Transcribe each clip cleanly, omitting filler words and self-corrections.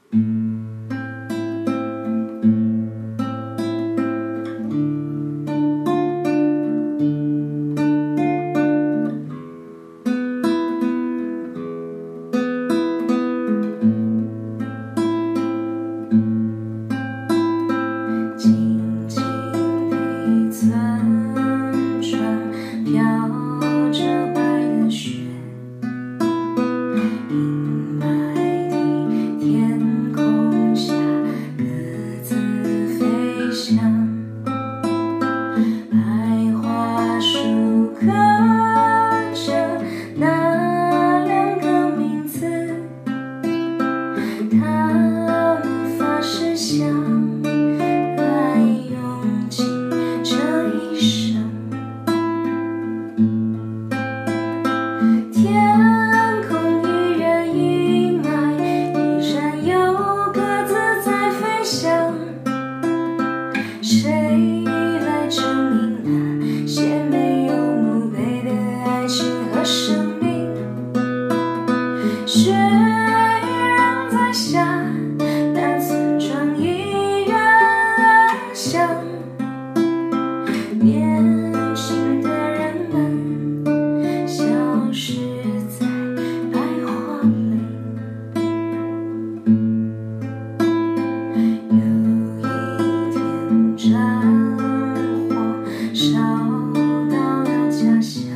静静地村庄飘着白的雪，阴霾的天空下各自飞翔，白桦树刻着那两个名字，他们发誓相爱用尽这一生。天空依然阴霾，依然有鸽子在飞翔，谁来证明那些没有墓碑的爱情和生命？雪仍在下，但村庄依然安详，年轻的人们消失在白桦林。有一天战火烧到了家乡，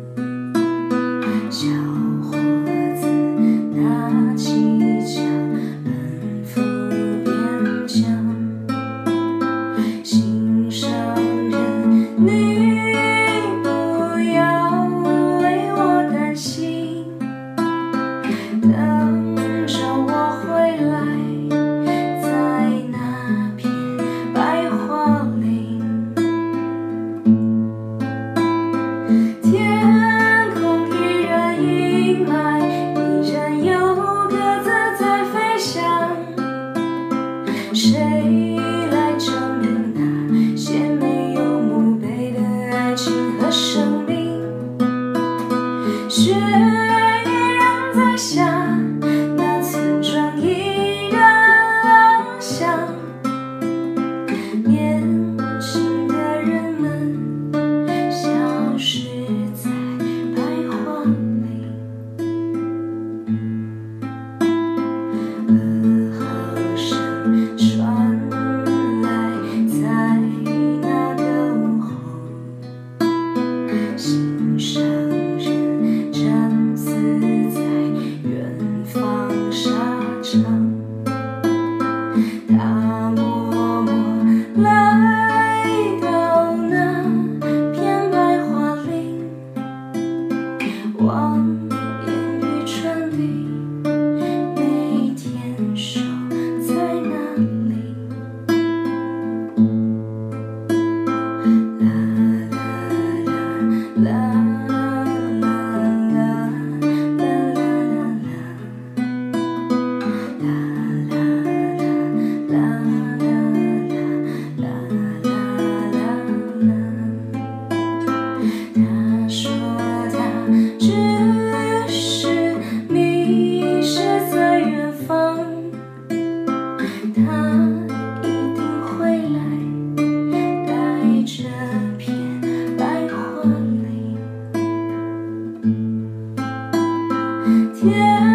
小伙子拿起枪奔赴边疆，心上人，你不要为我担心，等着我回来，在那片白桦林。天空依然阴霾，依然有鸽子在飞翔，谁来证明那些没有墓碑的爱情和生命？雪依然在下，那村庄依然安详，年轻的人们消失在白桦林。噩耗声传来，在那个午后，心上人战死在远方沙场，他默默来到那片白桦林，望眼欲穿的每天守在那里。啦啦啦啦啦他说他只是迷失在远方，他一定会来，带着片白桦林。天